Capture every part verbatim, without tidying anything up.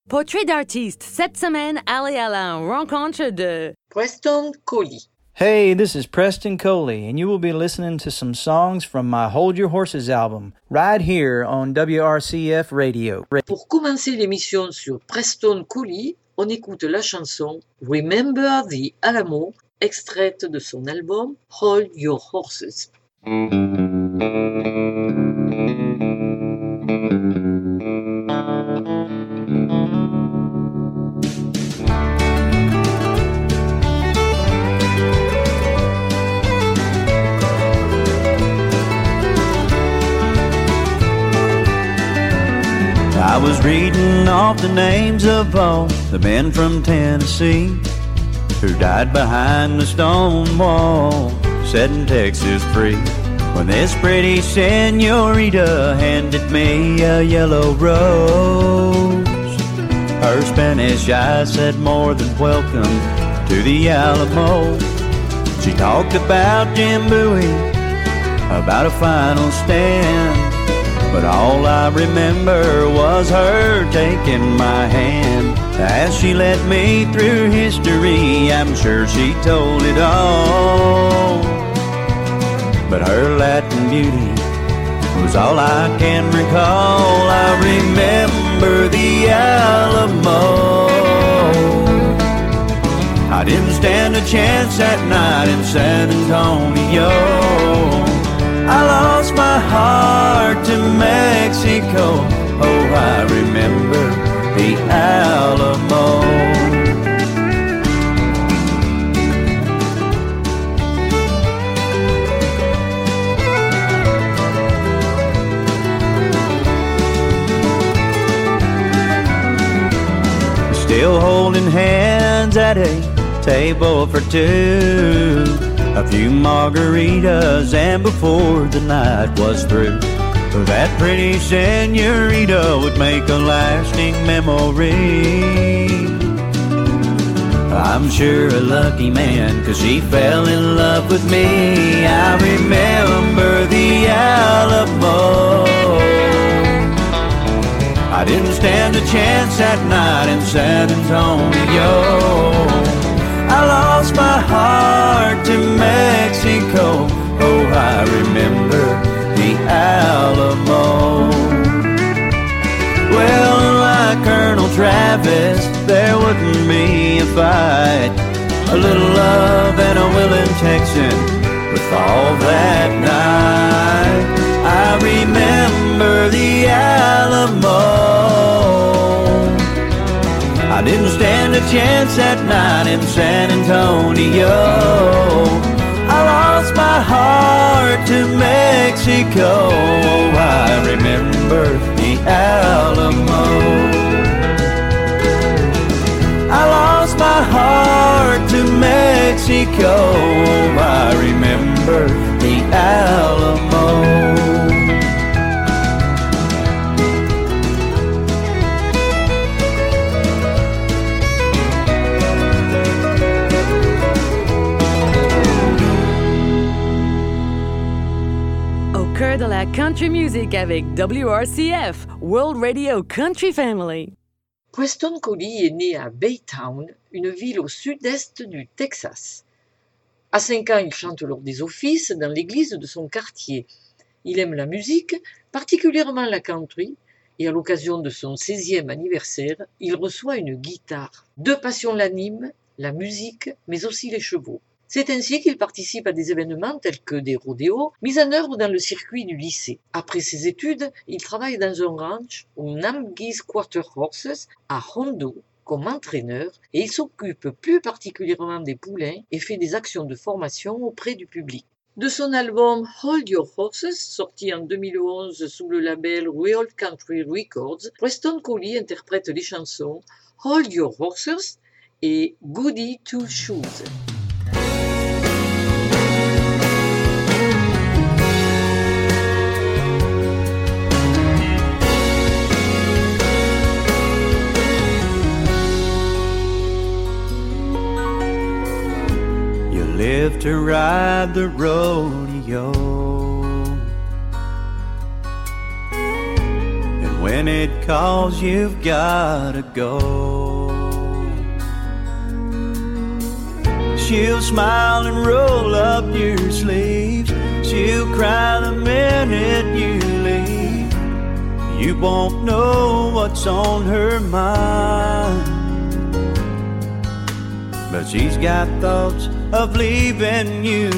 Portrait d'artiste. Cette semaine, allez à la rencontre de Preston Coley. Hey, this is Preston Coley, and you will be listening to some songs from my Hold Your Horses album, right here on W R C F Radio. Pour commencer l'émission sur Preston Coley, on écoute la chanson Remember the Alamo, extraite de son album Hold Your Horses. I was reading off the names of all the men from Tennessee who died behind the stone wall, setting Texas free. When this pretty senorita handed me a yellow rose, her Spanish eyes said more than welcome to the Alamo. She talked about Jim Bowie, about a final stand, but all I remember was her taking my hand. As she led me through history, I'm sure she told it all, but her Latin beauty was all I can recall. I remember the Alamo. I didn't stand a chance that night in San Antonio. I lost my heart to Mexico. Oh, I remember the Alamo. Still holding hands at a table for two, a few margaritas, and before the night was through, that pretty senorita would make a lasting memory. I'm sure a lucky man, 'cause she fell in love with me. I remember the Alamo. I didn't stand a chance that night in San Antonio. I lost my heart to Mexico. Oh, I remember the Alamo. Well, like Colonel Travis, there wouldn't be a fight. A little love and a willing Texan would fall that night. I remember the Alamo. I didn't stand a chance that night in San Antonio. I lost my heart to Mexico. Oh, I remember the Alamo. I lost my heart to Mexico. Oh, I remember the Alamo. Cœur de la country music avec W R C F, World Radio Country Family. Preston Coley est né à Baytown, une ville au sud-est du Texas. À cinq ans, il chante lors des offices dans l'église de son quartier. Il aime la musique, particulièrement la country, et à l'occasion de son seizième anniversaire, il reçoit une guitare. Deux passions l'animent, la musique, mais aussi les chevaux. C'est ainsi qu'il participe à des événements tels que des rodéos, mis en œuvre dans le circuit du lycée. Après ses études, il travaille dans un ranch au Namgis Quarter Horses à Hondo comme entraîneur et il s'occupe plus particulièrement des poulains et fait des actions de formation auprès du public. De son album Hold Your Horses, sorti en deux mille onze sous le label Real Country Records, Preston Coley interprète les chansons Hold Your Horses et Goody Two Shoes. Live to ride the rodeo, and when when it calls, you've gotta go. She'll smile and roll up your sleeves. She'll cry the minute you leave. You won't know what's on her mind, but she's got thoughts of leaving you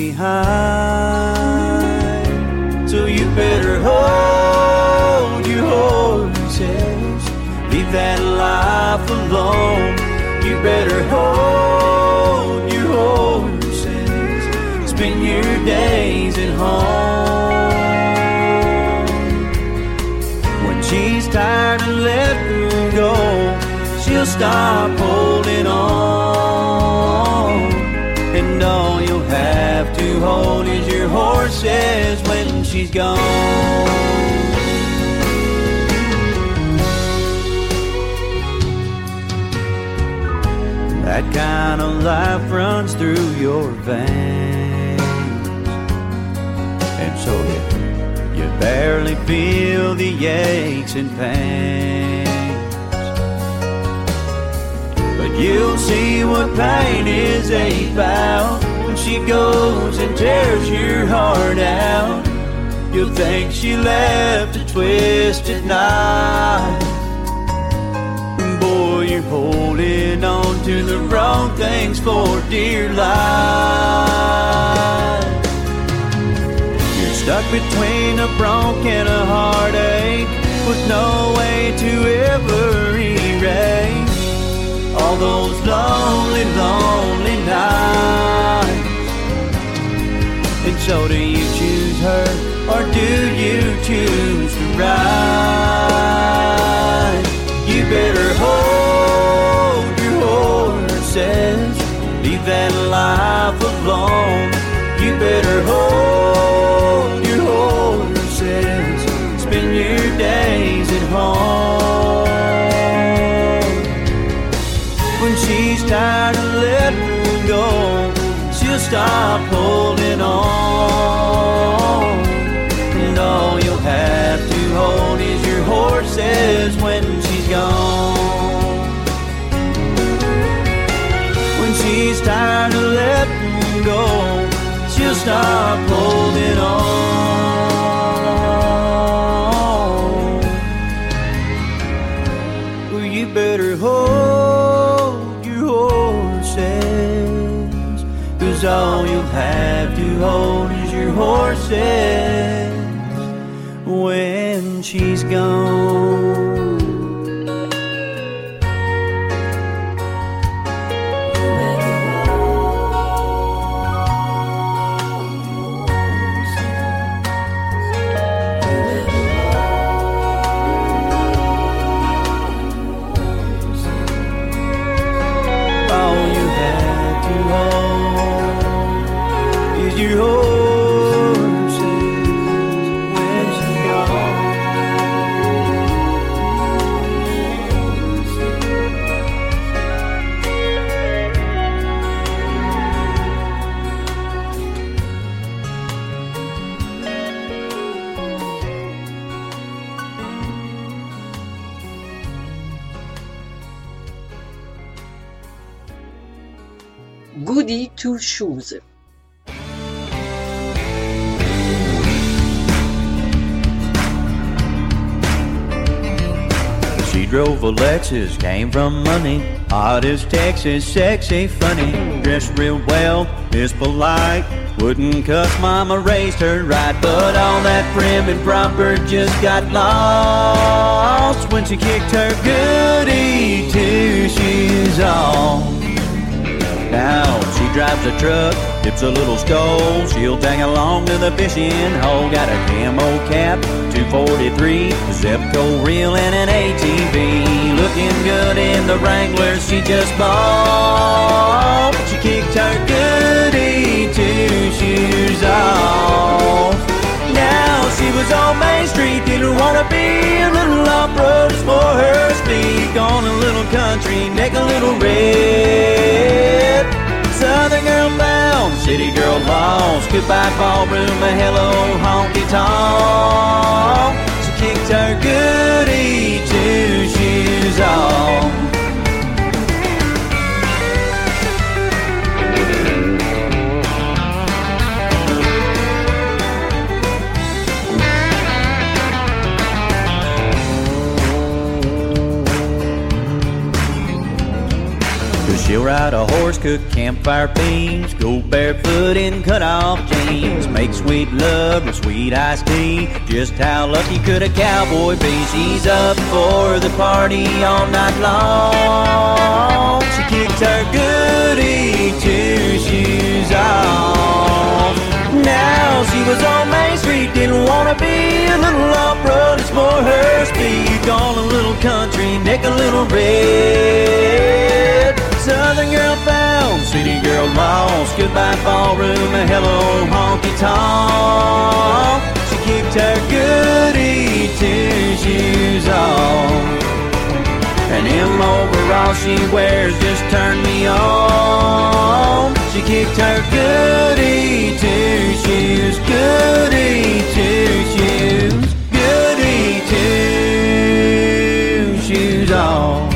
behind. So you better hold your horses, leave that life alone. You better hold your horses, spend your days at home. When she's tired of letting go, she'll stop holding on. And all you'll have to hold is your horses when she's gone. That kind of life runs through your veins, and so you, you barely feel the aches and pains. But you'll see what pain is about when she goes and tears your heart out. You'll think she left a twisted knife. Boy, you're holding on to the wrong things for dear life. You're stuck between a bronc and a heartache, with no way to ever erase all those lonely, lonely nights. And so do you choose her, or do you choose to ride? You better hold your horses, leave that life alone. You better hold your horses, spend your days at home. When she's tired of letting go, she'll stop holding on. And all you'll have to hold is your horses when she's gone. When she's tired of letting go, she'll stop holding on. Well, you better hold your horses, 'cause all you'll have to hold is your horses when she's gone. Your horses when she's gone. Goody Two Shoes. She drove a Lexus, came from money, hot as Texas, sexy, funny, dressed real well, is polite, wouldn't cuss, mama raised her right, but all that prim and proper just got lost when she kicked her goody two shoes off. Now she drives a truck, dips a little stole, she'll tag along to the fishing hole, got a camo cap, two forty-three, Zepco reel and an A T V, looking good in the Wrangler she just bought. She kicked her goody two shoes off. Now she was on Main Street, didn't wanna be a little off-road for her speed, gone a little country, neck a little red. Southern girl bound, city girl lost, goodbye ballroom, a hello honky tonk. She kicked her goody two-shoes off. She'll ride a horse, cook campfire beans, go barefoot in cut-off jeans, make sweet love with sweet iced tea. Just how lucky could a cowboy be? She's up for the party all night long. She kicked her goody two-shoes off. Now she was on Main Street, didn't wanna be a little off-road, it's more her speed. Gone a little country, neck a little red. Southern girl found, city girl lost. Goodbye ballroom, a hello honky tonk. She kicked her goody two-shoes off. And them overalls she wears just turned me on. She kicked her goody two-shoes, goody two-shoes, goody two-shoes off.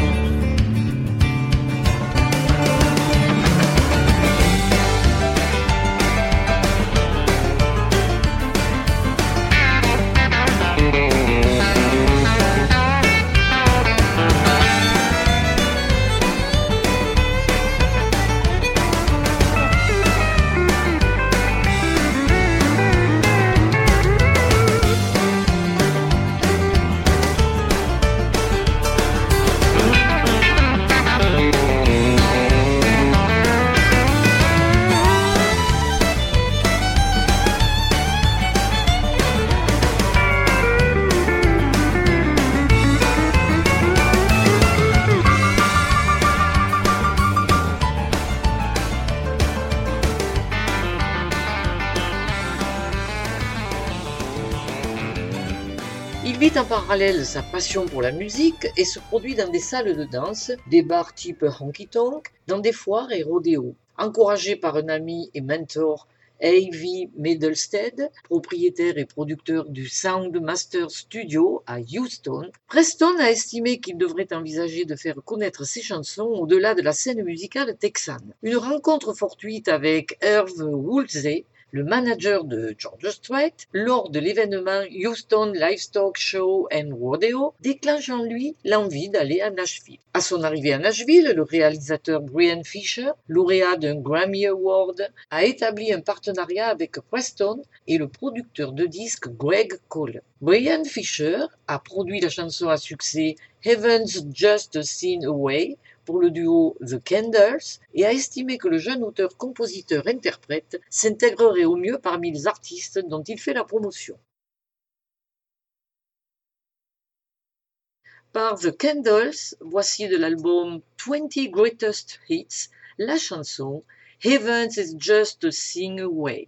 Il vit en parallèle sa passion pour la musique et se produit dans des salles de danse, des bars type honky-tonk, dans des foires et rodéos. Encouragé par un ami et mentor, A V Middlestead, propriétaire et producteur du Sound Master Studio à Houston, Preston a estimé qu'il devrait envisager de faire connaître ses chansons au-delà de la scène musicale texane. Une rencontre fortuite avec Irv Woolsey, le manager de George Strait, lors de l'événement Houston Livestock Show and Rodeo, déclenche en lui l'envie d'aller à Nashville. À son arrivée à Nashville, le réalisateur Brian Fisher, lauréat d'un Grammy Award, a établi un partenariat avec Preston et le producteur de disques Greg Cole. Brian Fisher a produit la chanson à succès Heaven's Just a Scene Away pour le duo The Candles et a estimé que le jeune auteur-compositeur-interprète s'intégrerait au mieux parmi les artistes dont il fait la promotion. Par The Candles, voici de l'album twenty Greatest Hits, la chanson Heaven's is Just a Scene Away.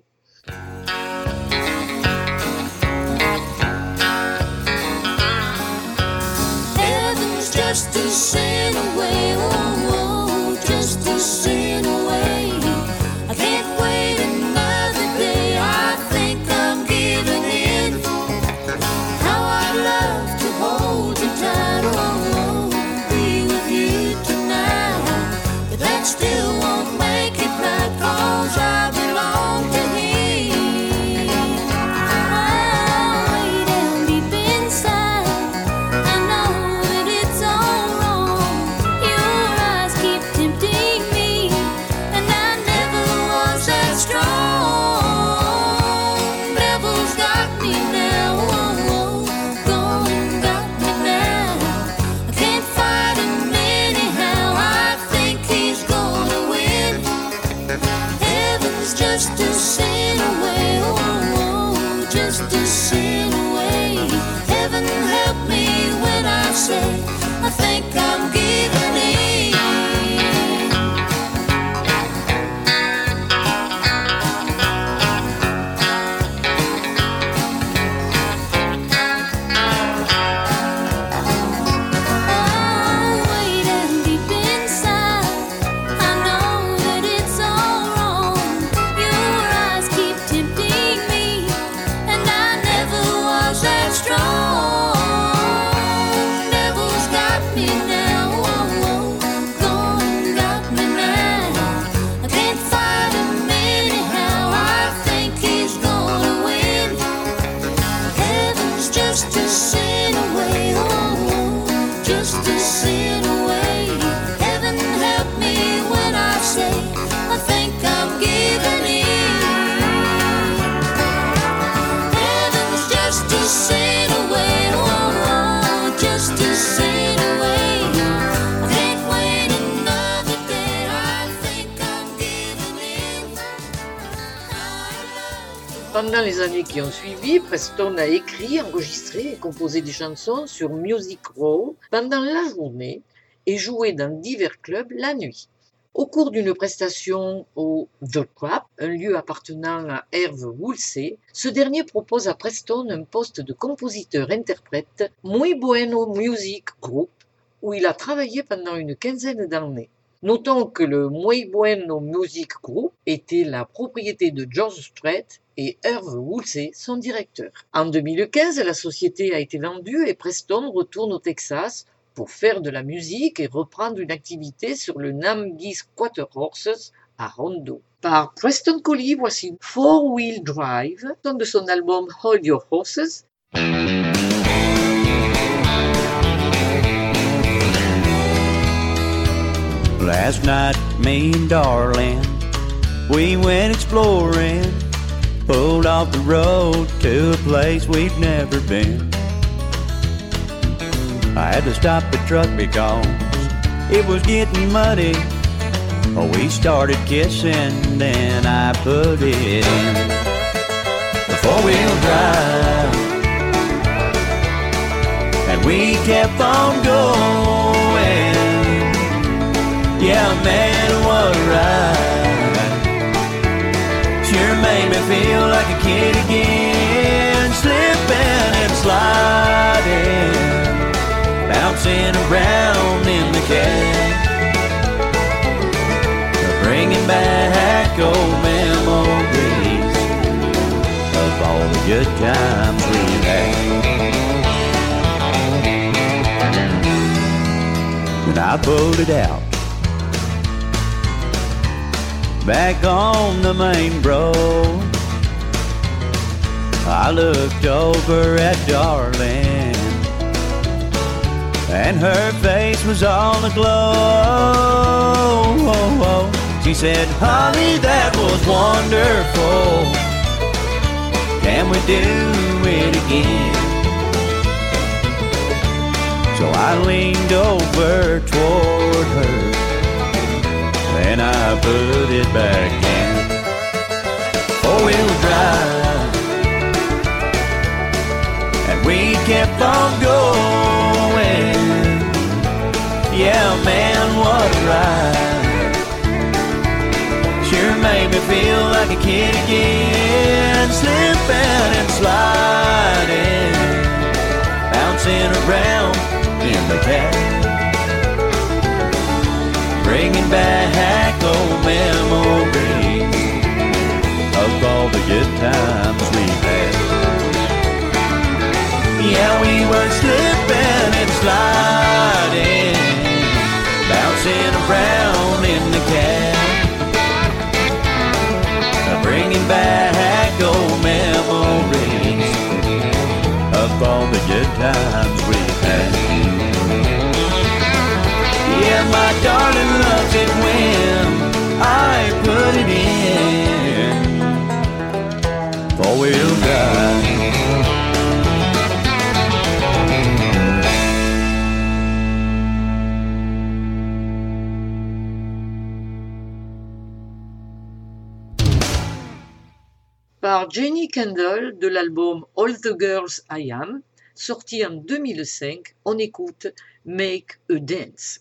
Just to sin away, oh, oh, just to sin away. I can't wait another day, I think I'm giving in. How I'd love to hold you tight, oh, oh, be with you tonight. But that still won't make it right, 'cause I belong to him. Oh, way down deep inside, I know that it's all wrong. Your eyes keep tempting me, and I never was that strong. Devil's got me now, oh, oh, gone and got me now. I can't fight him anyhow, I think he's gone away. Pendant les années qui ont suivi, Preston a écrit, enregistré et composé des chansons sur Music Row pendant la journée et joué dans divers clubs la nuit. Au cours d'une prestation au The Crap, un lieu appartenant à Herve Woolsey, ce dernier propose à Preston un poste de compositeur-interprète Muy Bueno Music Group, où il a travaillé pendant une quinzaine d'années. Notons que le Muy Bueno Music Group était la propriété de George Strait et Herve Woolsey, son directeur. En deux mille quinze, la société a été vendue et Preston retourne au Texas pour faire de la musique et reprendre une activité sur le Namgis Quarter Horses à Rondo. Par Preston Collie, voici Four Wheel Drive, de son album Hold Your Horses. Last night, me and darling, we went exploring, pulled off the road to a place we've never been. I had to stop the truck because it was getting muddy. Oh, we started kissing, then I put it in the four-wheel drive, and we kept on going. Yeah, man, what a ride. Sure made me feel like a kid again, slipping and sliding, bouncing around in the cab, bringing back old memories of all the good times we had. When I pulled it out back on the main road, I looked over at darling, and her face was all aglow. She said, honey, that was wonderful. Can we do it again? So I leaned over toward her, and I put it back in four-wheel drive, and we kept on going. Yeah, man, what a ride. Sure made me feel like a kid again, slipping and sliding, bouncing around in the cab, bringing back old memories of all the good times we've had. Yeah, we were slipping and sliding, bouncing around in the cab, bringing back old memories of all the good times we've had. Yeah, my darling loves it when I put it in four-wheel drive. Par Jenny Kendall de l'album All the Girls I Am, sorti en deux mille cinq, on écoute Make a Dance.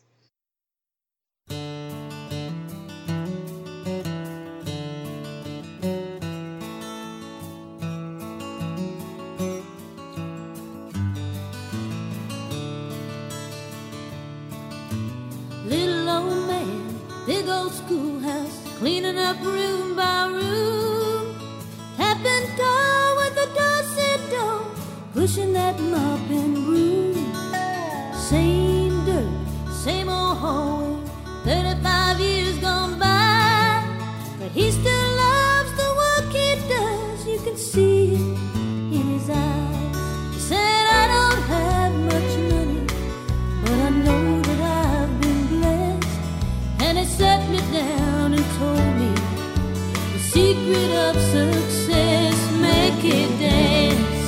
Little old man, big old schoolhouse, cleaning up room by room, tapping door with a Dorset door, pushing that mop and broom. Same dirt, same old hallway, thirty-five years gone by, but he still loves the work he does. You can see it in his eyes. He said, I don't have much money, but I know that I've been blessed. And he sat me down and told me the secret of success: make it dance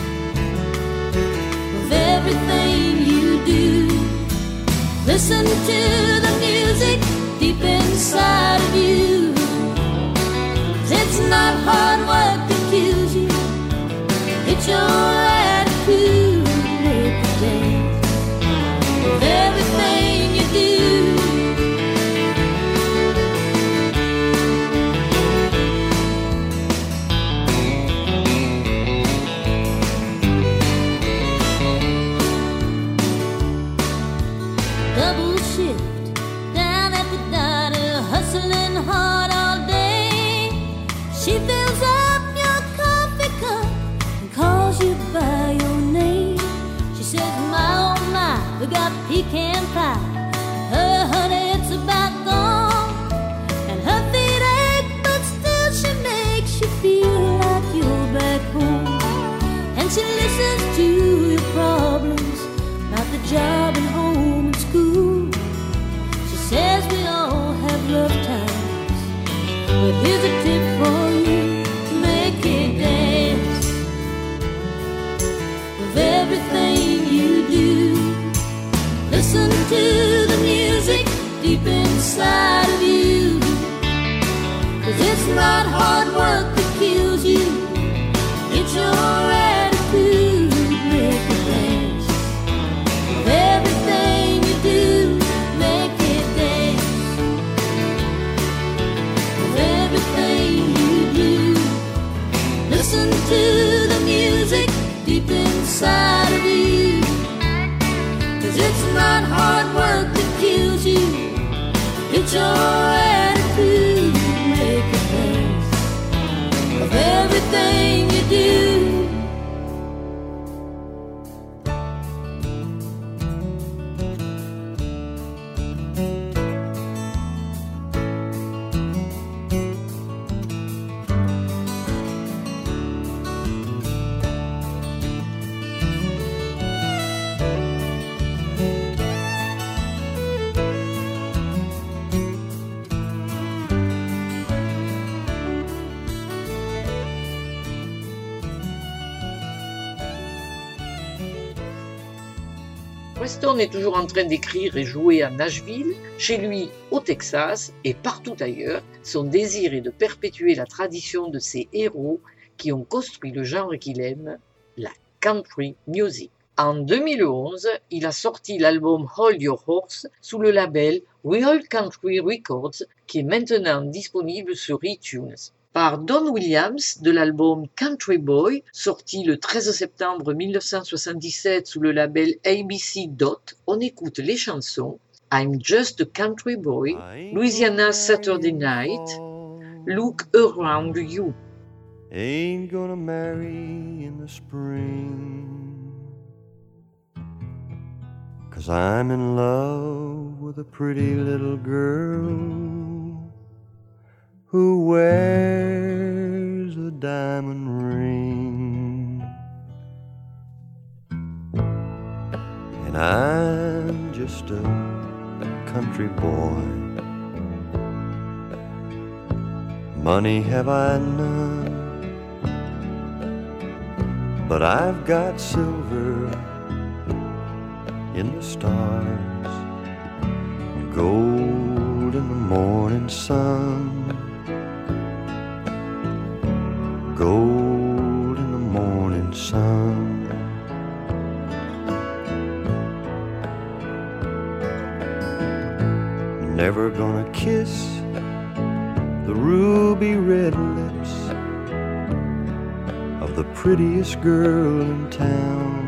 with everything you do. Listen to the music deep inside of you. It's not hard work that you your attitude make you dance with everything you do. Double shift down at the diner, hustling hard all day. She fills up your coffee cup and calls you by your name. She says, my oh my, we got pecan pie. Her honey, it's about gone. And her feet ache, but still she makes you feel like you're back home. And she listens to your problems about the job and home and school. She says we all have rough times, but here's a tip for you: make it dance with everything you do. Listen to the music deep inside of you, 'cause it's not hard work that kills you, it's your attitude. Make it dance with everything you do. Make it dance with everything you do. Listen to the music deep inside of you, 'cause it's not hard work that kills you, it's your attitude. Make it dance with everything you do. Preston est toujours en train d'écrire et jouer à Nashville, chez lui au Texas et partout ailleurs. Son désir est de perpétuer la tradition de ses héros qui ont construit le genre qu'il aime, la country music. En deux mille onze, il a sorti l'album Hold Your Horse sous le label Real Country Records, qui est maintenant disponible sur iTunes. Par Don Williams de l'album Country Boy, sorti le treize septembre mille neuf cent soixante-dix-sept sous le label A B C Dot, on écoute les chansons I'm Just a Country Boy, Louisiana Saturday Night, Look Around You. Ain't gonna marry in the spring, 'cause I'm in love with a pretty little girl who wears a diamond ring. And I'm just a country boy. Money have I none, but I've got silver in the stars, gold in the morning sun, gold in the morning sun. Never gonna kiss the ruby red lips of the prettiest girl in town.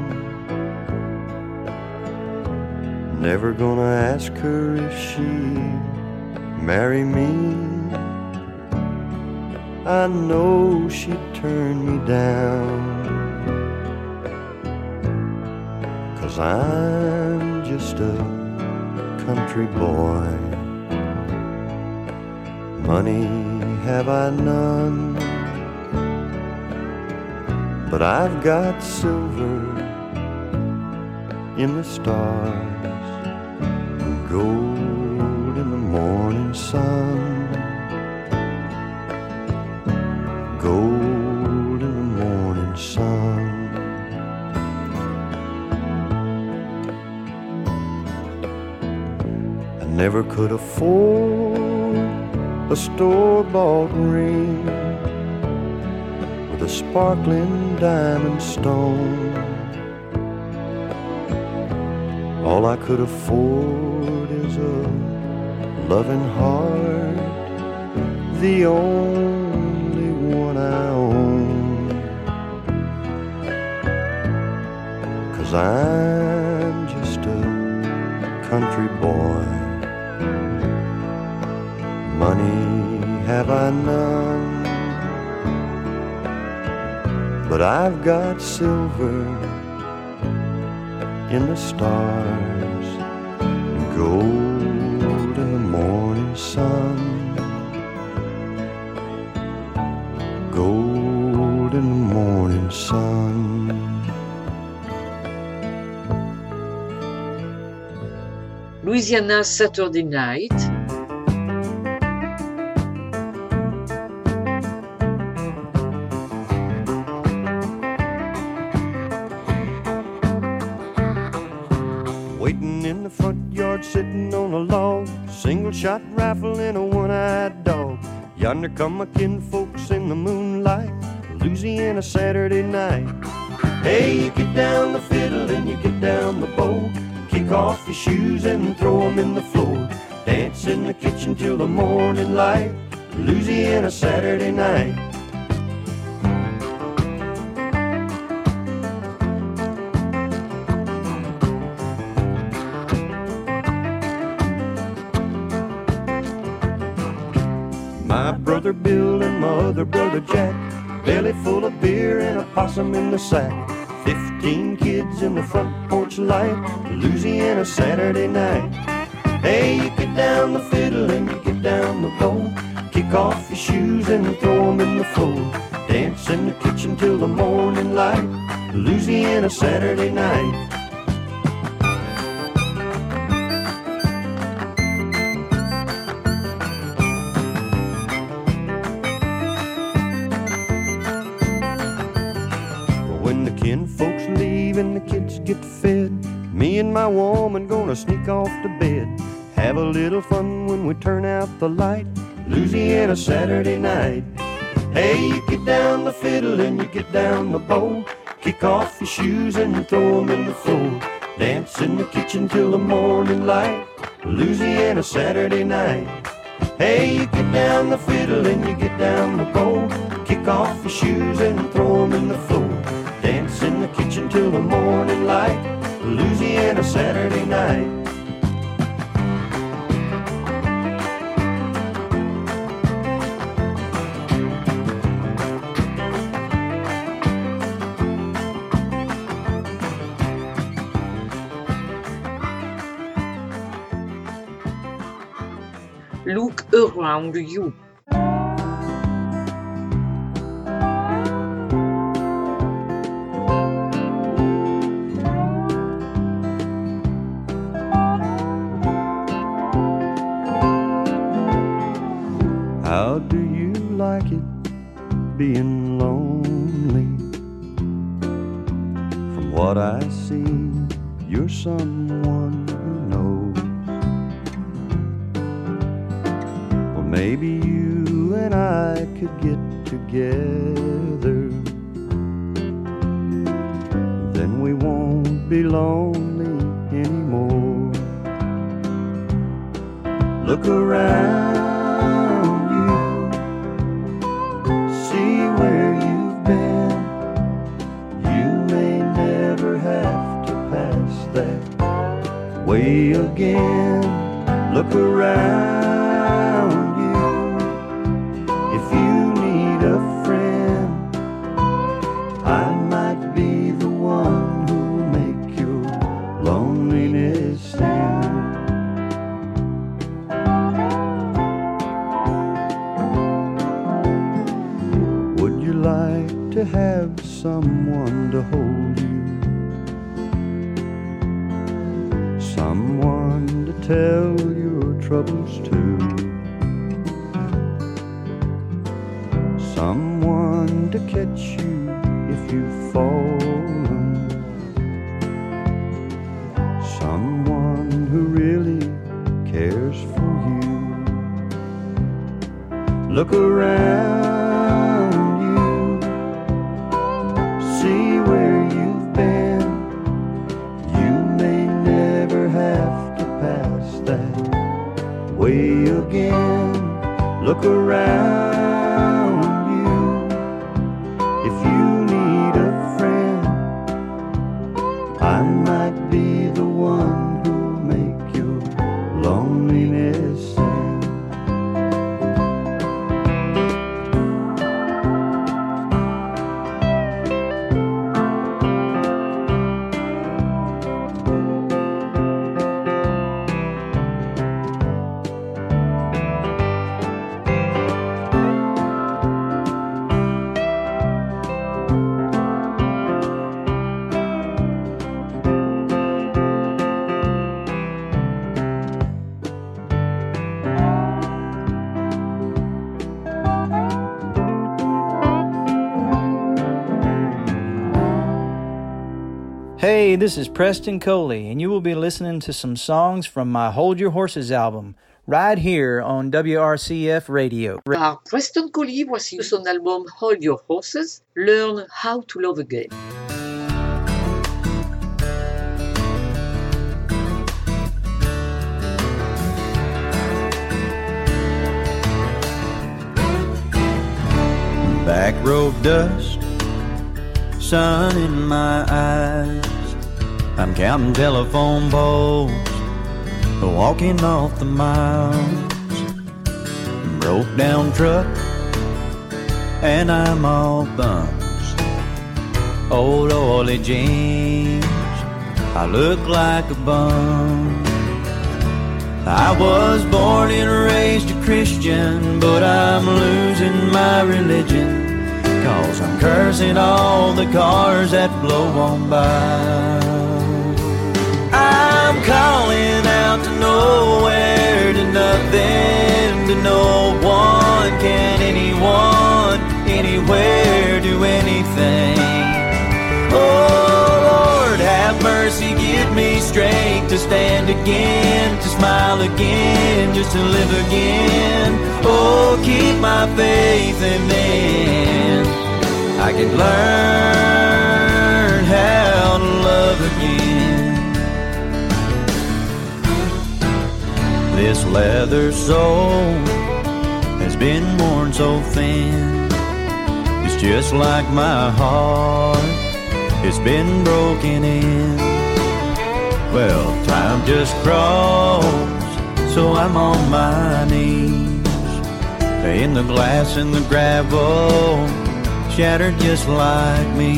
Never gonna ask her if she'd marry me. I know she'd turn me down, 'cause I'm just a country boy. Money have I none, but I've got silver in the stars, gold in the morning sun, gold in the morning sun. I never could afford a store-bought ring with a sparkling diamond stone. All I could afford is a loving heart, the only one I own. 'Cause I'm just a country boy. Money have I none, but I've got silver in the stars and gold in the morning sun. Gold in the morning sun. Louisiana Saturday Night. Waiting in the front yard, sitting on a log, single shot rifle and a one-eyed dog. Yonder come my kinfolks in the moonlight, Louisiana Saturday night. Hey, you get down the fiddle and you get down the bow, kick off your shoes and throw 'em in the floor. Dance in the kitchen till the morning light, Louisiana Saturday night. My brother Bill and my other brother Jack, belly full of beer and a possum in the sack. Fifteen kids in the front porch light, Louisiana Saturday night. Hey, you get down the fiddle and you get down the bow, kick off your shoes and throw 'em in the floor. Dance in the kitchen till the morning light, Louisiana Saturday night. Folks leave and the kids get fed, me and my woman gonna sneak off to bed. Have a little fun when we turn out the light, Louisiana Saturday night. Hey, you get down the fiddle and you get down the bow, kick off your shoes and throw 'em in the floor. Dance in the kitchen till the morning light, Louisiana Saturday night. Hey, you get down the fiddle and you get down the bow, kick off your shoes and throw 'em in the floor. Dance in the kitchen till the morning light, Louisiana Saturday night. Look Around You. How do you like it being lonely? From what I see, you're someone who knows. Well, maybe you and I could get together, then we won't be lonely anymore. Look around, where you've been, you may never have to pass that way again. Look around you, if you need a friend, I might be the one who'll make your loneliness end. Like to have someone to hold you, someone to tell your troubles to, someone to catch you if you've fallen, someone who really cares for you. Look around, way again. Look around you if you need a friend. I might be the one who'll make your loneliness end. Hey, this is Preston Coley, and you will be listening to some songs from my Hold Your Horses album, right here on W R C F Radio. Par Preston Coley, voici son album Hold Your Horses, Learn How to Love Again. Back road dust, sun in my eyes. I'm counting telephone poles, walking off the miles. Broke down truck, and I'm all bums. Old oily jeans, I look like a bum. I was born and raised a Christian, but I'm losing my religion, 'cause I'm cursing all the cars that blow on by. I'm calling out to nowhere, to nothing, to no one. Can anyone, anywhere do anything? Oh Lord, have mercy, give me strength to stand again, to smile again, just to live again. Oh, keep my faith, and then I can learn how to love again. This leather sole has been worn so thin. It's just like my heart, it's been broken in. Well, time just crawls, so I'm on my knees, in the glass and the gravel, shattered just like me.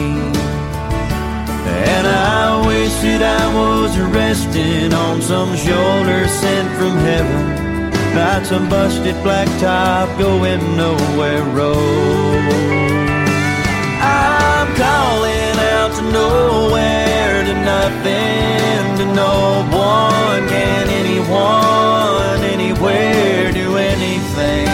And I wish that I was resting on some shoulder sent from heaven, not some busted black top going nowhere road. I'm calling out to nowhere, to nothing, to no one. Can anyone, anywhere do anything?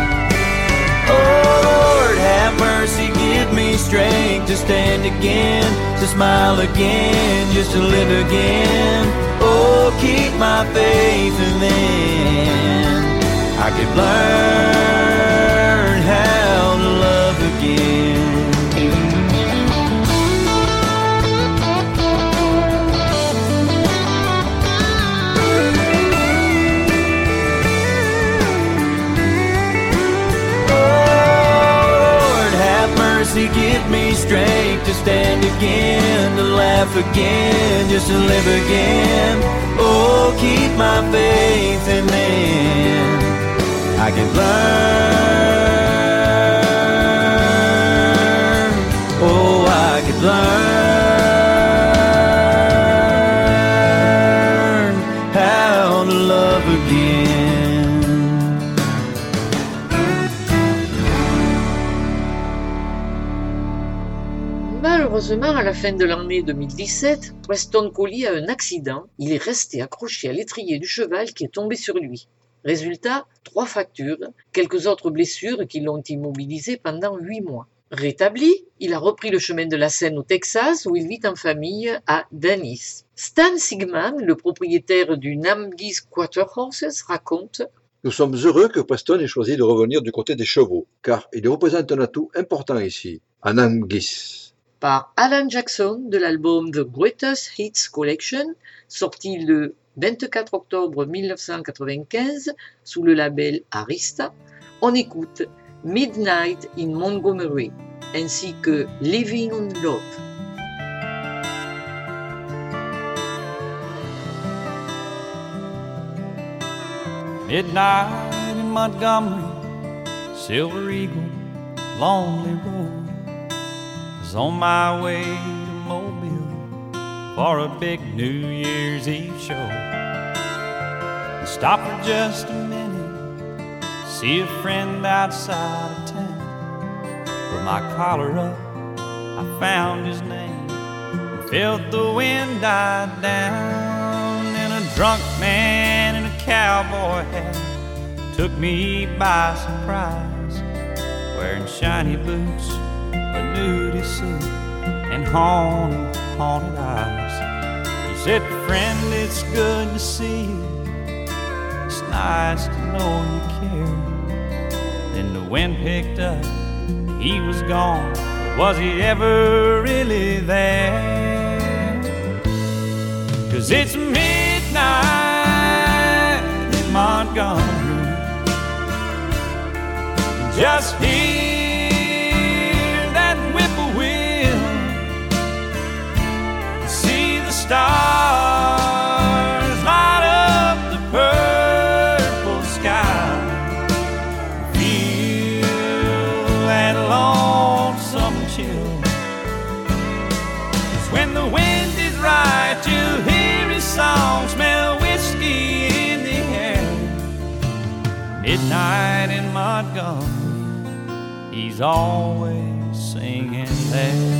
Oh Lord, have mercy, give me strength to stand again, to smile again, just to live again. Oh, keep my faith, and then I could learn how to love again. Give me strength to stand again, to laugh again, just to live again. Oh, keep my faith, and then I can learn. Oh, I can learn how to love again. Malheureusement, à la fin de l'année deux mille dix-sept, Preston Coley a un accident. Il est resté accroché à l'étrier du cheval qui est tombé sur lui. Résultat, trois fractures, quelques autres blessures qui l'ont immobilisé pendant huit mois. Rétabli, il a repris le chemin de la Seine au Texas, où il vit en famille à Dennis. Stan Sigman, le propriétaire du Namgis Quarter Horses, raconte: Nous sommes heureux que Preston ait choisi de revenir du côté des chevaux, car il représente un atout important ici, à Namgis. Par Alan Jackson de l'album The Greatest Hits Collection, sorti le vingt-quatre octobre mille neuf cent quatre-vingt-quinze, sous le label Arista, on écoute Midnight in Montgomery, ainsi que Living on Love. Midnight in Montgomery, Silver Eagle, Lonely Road. Was on my way to Mobile for a big New Year's Eve show. I stopped for just a minute, see a friend outside of town. Put my collar up, I found his name, and felt the wind die down. And a drunk man in a cowboy hat took me by surprise, wearing shiny boots, a nudie suit, and haunted, haunted eyes. He said, friend, it's good to see you, it's nice to know you care. Then the wind picked up, he was gone, but was he ever really there? 'Cause it's midnight in Montgomery, just hear that whippoorwill, see the stars light up the purple sky, feel that lonesome chill. 'Cause when the wind is right, you hear his song, smell whiskey in the air. Midnight in Montgomery, he's always singing there.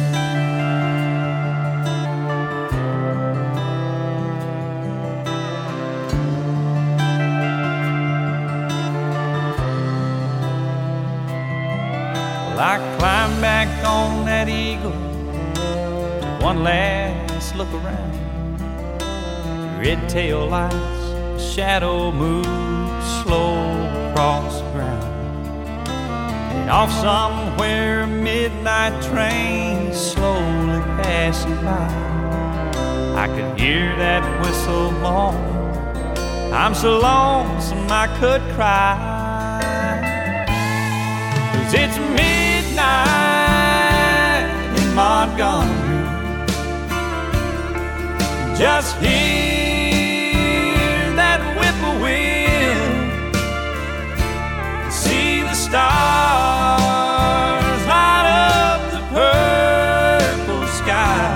Well, I climbed back on that Eagle, took one last look around. Red tail lights, shadow moves slow across the ground. And off somewhere, a midnight train is slowly passing by. I could hear that whistle moan, I'm so lonesome I could cry. 'Cause it's midnight in Montgomery, just hear that whippoorwill, see the stars light up the purple sky,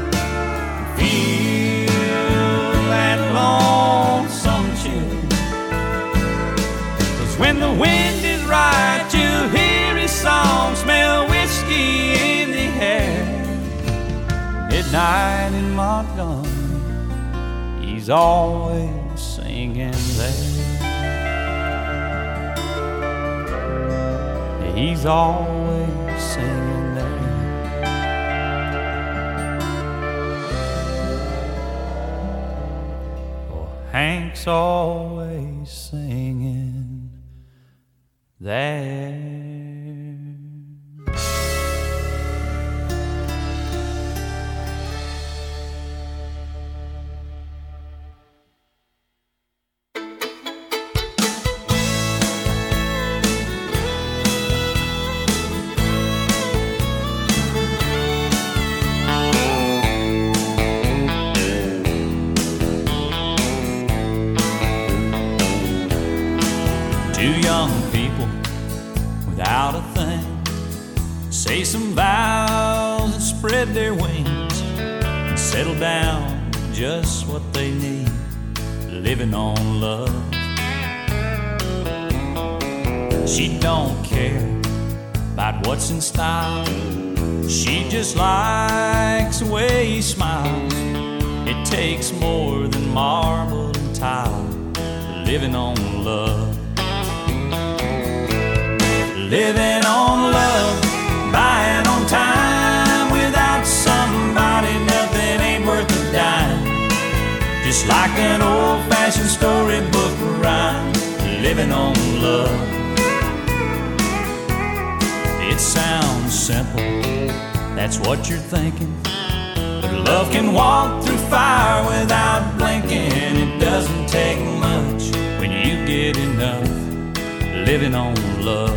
feel that lonesome chill. 'Cause when the wind is right, you hear his song, smell whiskey in the air. Midnight in Montgomery, he's always singing there. He's always singing there. Oh, Hank's always singing there. Two young people without a thing say some vows and spread their wings and settle down just what they need, living on love. She don't care about what's in style, she just likes the way he smiles. It takes more than marble and tile, living on love. Living on love, buying on time. Without somebody, nothing ain't worth a dime. Just like an old-fashioned storybook rhyme, living on love. It sounds simple, that's what you're thinking, but love can walk through fire without blinking. It doesn't take much when you get enough living on love.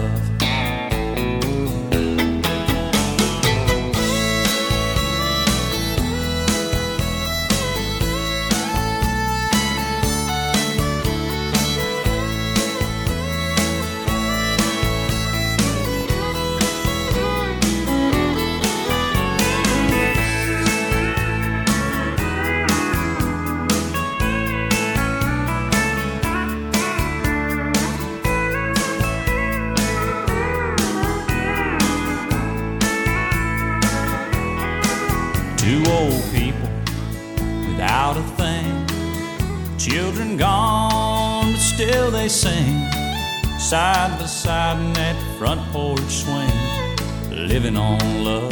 Two old people without a thing, children gone, but still they sing, side by side in that front porch swing, living on love.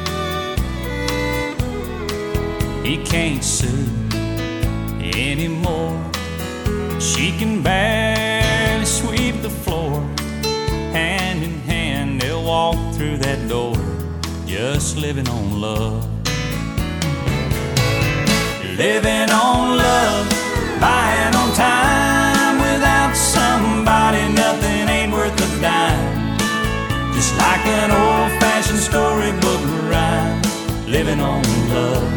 He can't sue anymore, she can barely sweep the floor. Hand in hand they'll walk through that door, just living on love. Living on love, buying on time. Without somebody, nothing ain't worth a dime. Just like an old-fashioned storybook rhyme. Living on love.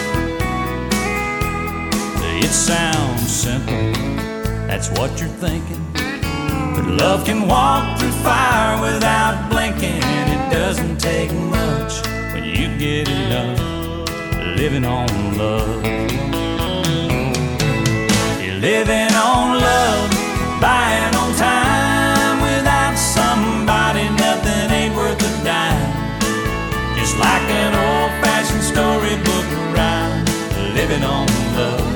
It sounds simple, that's what you're thinking. But love can walk through fire without blinking. It doesn't take much when you get enough living on love. You're living on love, buying on time. Without somebody, nothing ain't worth a dime. Just like an old-fashioned storybook rhyme. Living on love.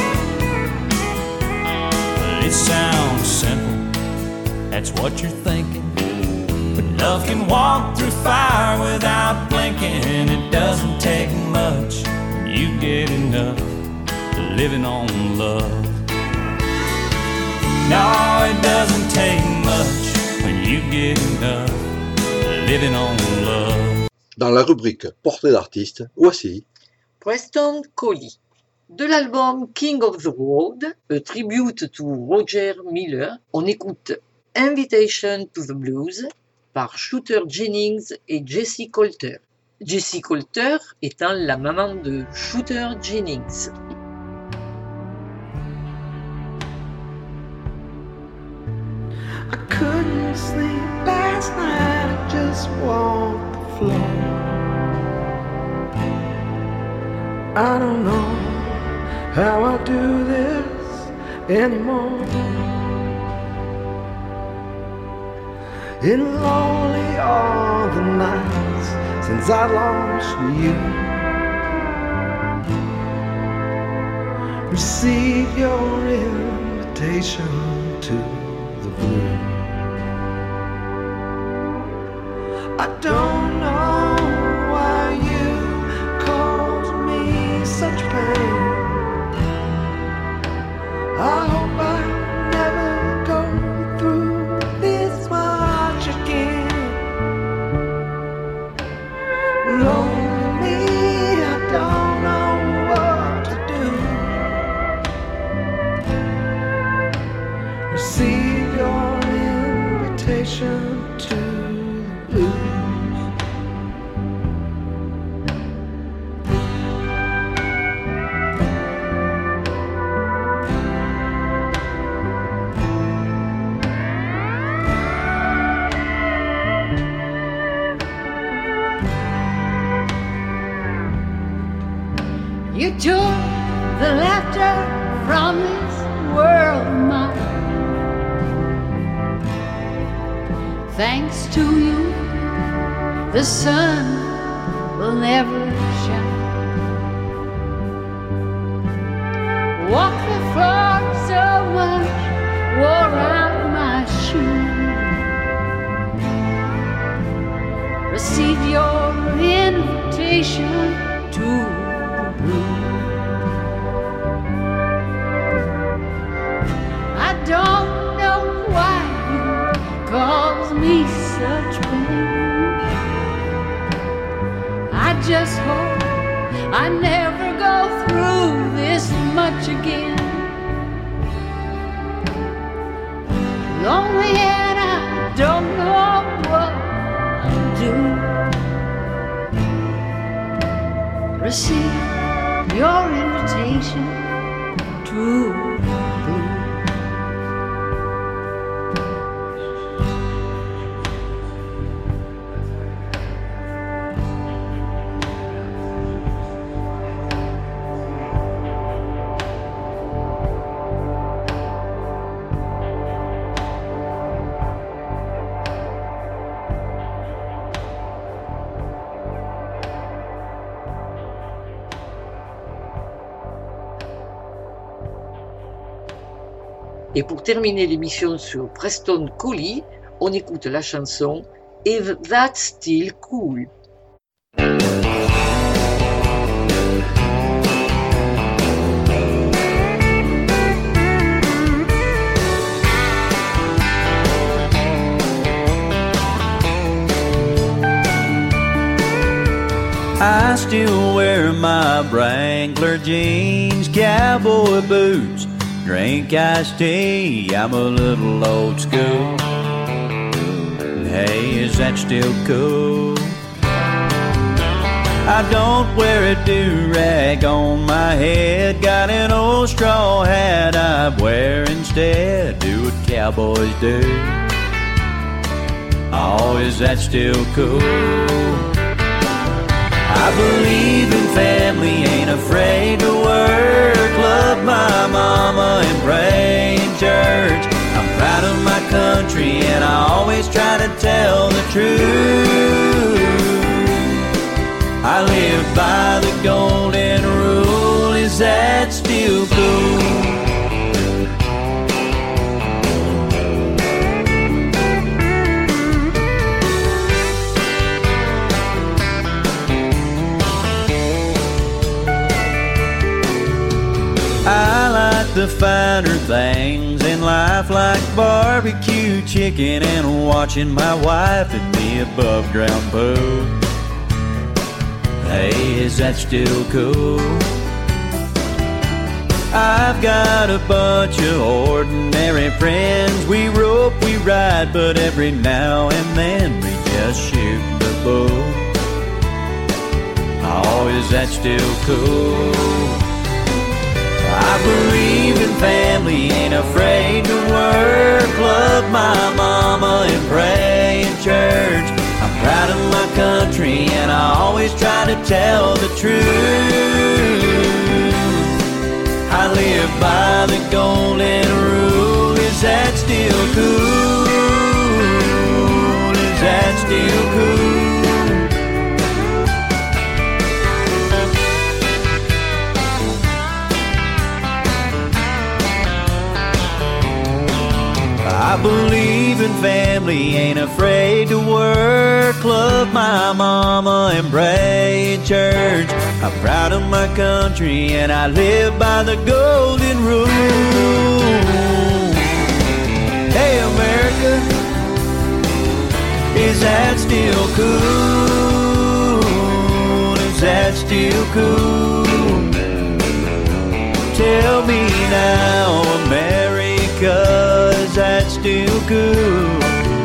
It sounds simple, that's what you're thinking. But love can walk through fire without blinking. It doesn't take much when you get enough living on love. No, it doesn't take much when you get enough living on love. Dans la rubrique Portrait d'artiste, voici Preston Collie. De l'album King of the Road, a tribute to Roger Miller, on écoute Invitation to the Blues par Shooter Jennings et Jessie Coulter. Jessie Coulter étant la maman de Shooter Jennings. I couldn't sleep last night, I just walked the floor. I don't know how I do this anymore. In lonely all the nights since I lost you. Receive your invitation to the blue. I don't know why you cause me such pain. I hope I never go through this much again. Lonely me, I don't know what to do. Receive your invitation to the blues. You took the laughter from this world of mine. Thanks to you, the sun will never shine. Walk the floor so much, wore out my shoes. Receive your invitation to I don't know why you cause me such pain. I just hope I never go through this much again. receive your invitation to blue. Et pour terminer l'émission sur Preston Collie, on écoute la chanson If That's Still Cool. I still wear my Wrangler jeans, cowboy boots, drink iced tea. I'm a little old school. Hey, is that still cool? I don't wear a do-rag on my head. Got an old straw hat I wear instead. Do what cowboys do. Oh, is that still cool? I believe in family, ain't afraid to work. Love my mama and pray in church. I'm proud of my country and I always try to tell the truth. I live by the golden rule, is that still cool? I like the finer things in life, like barbecue chicken and watching my wife in the above ground pool. Hey, is that still cool? I've got a bunch of ordinary friends. We rope, we ride, but every now and then we just shoot the bull. Oh, is that still cool? I believe in family, ain't afraid to work. Love my mama and pray in church. I'm proud of my country and I always try to tell the truth. I live by the golden rule, is that still cool? Is that still cool? I believe in family, ain't afraid to work. Love my mama and pray in church. I'm proud of my country and I live by the golden rule. Hey America, is that still cool? Is that still cool? Tell me now, America, is that still cool?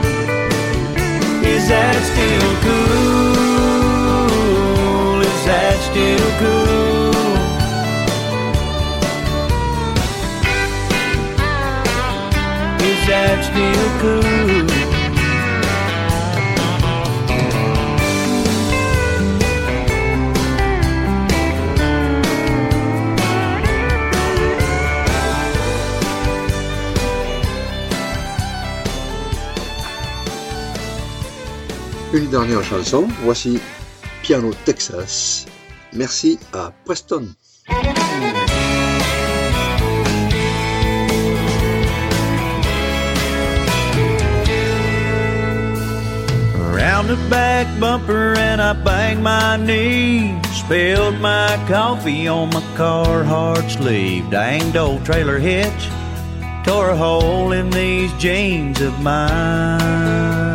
Is that still cool? Is that still cool? Is that still cool? Une dernière chanson, voici Piano Texas. Merci à Preston. Around the back bumper and I banged my knee. Spilled my coffee on my Carhartt sleeve. Danged old trailer hitch tore a hole in these jeans of mine.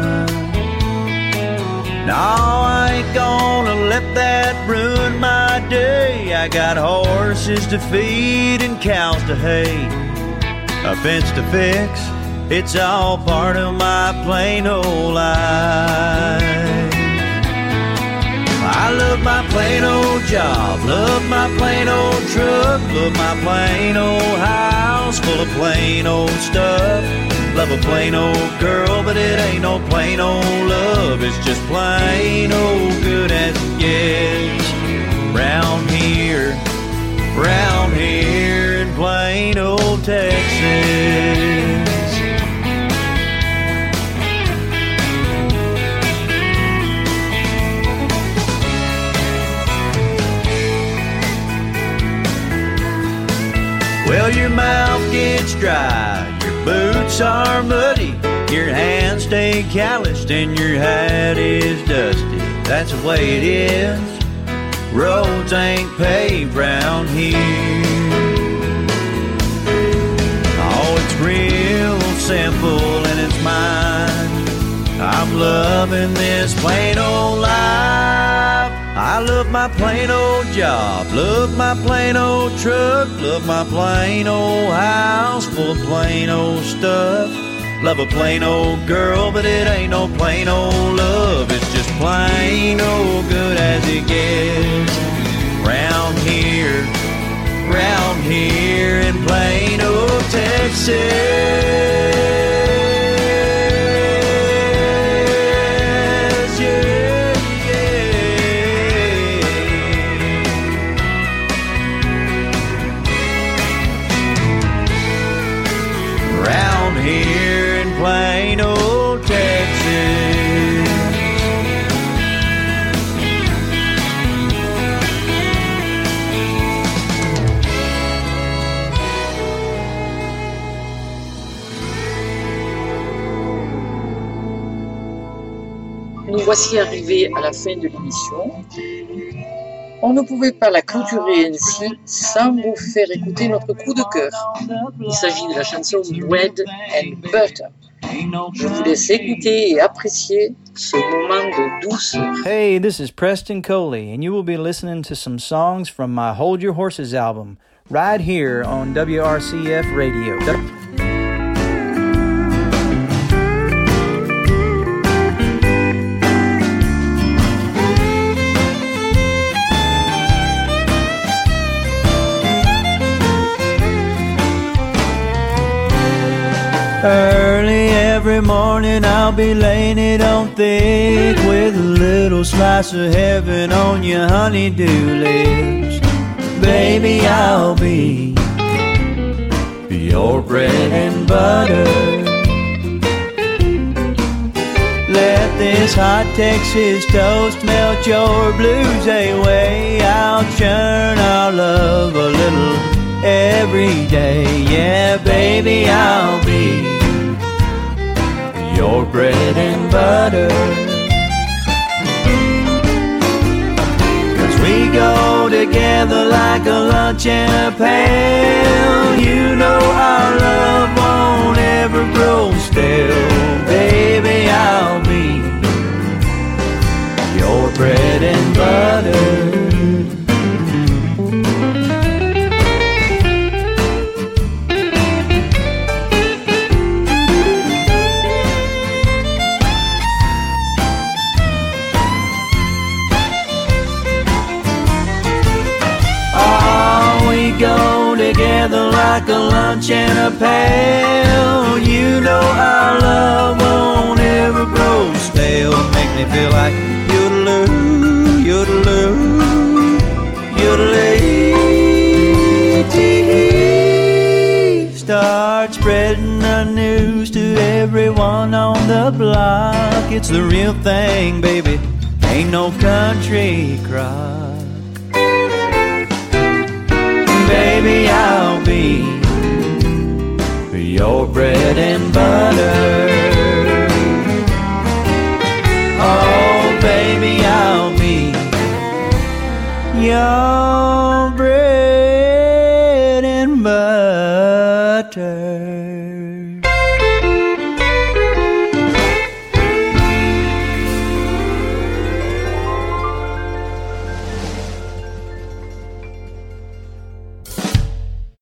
No, I ain't gonna let that ruin my day. I got horses to feed and cows to hay, a fence to fix. It's all part of my plain old life. I love my plain old job, love my plain old truck, love my plain old house full of plain old stuff. Love a plain old girl, but it ain't no plain old love. It's just plain old good as it gets. Round here, round here in plain old Texas. Well, your mouth gets dry, your boots are muddy, your hands stay calloused, and your hat is dusty. That's the way it is. Roads ain't paved round here. Oh, it's real simple and it's mine. I'm loving this plain old life. I love my plain old job, love my plain old truck, love my plain old house full of plain old stuff. Love a plain old girl, but it ain't no plain old love. It's just plain old good as it gets. Round here, round here in plain old Texas. Plain old Texas. Nous voici arrivés à la fin de l'émission. On ne pouvait pas la clôturer ainsi sans vous faire écouter notre coup de cœur. Il s'agit de la chanson Bread and Butter. Je vous laisse écouter et apprécier ce moment de douceur. Hey, this is Preston Coley, and you will be listening to some songs from my Hold Your Horses album, right here on W R C F Radio. Early every morning I'll be laying it on thick with a little slice of heaven on your honeydew lips. Baby, I'll be your bread and butter. Let this hot Texas toast melt your blues away. I'll churn our love a little every day. Yeah, baby, I'll be your bread and butter. 'Cause we go together like a lunch and a pail. You know our love won't ever grow stale. Baby, I'll be your bread and butter. Go together like a lunch and a pail. You know our love won't ever grow stale. Make me feel like yodeloo, yodeloo, yodelay. Start spreading the news to everyone on the block. It's the real thing, baby. Ain't no country crock. Baby, I'll be your bread and butter. Oh, baby, I'll be your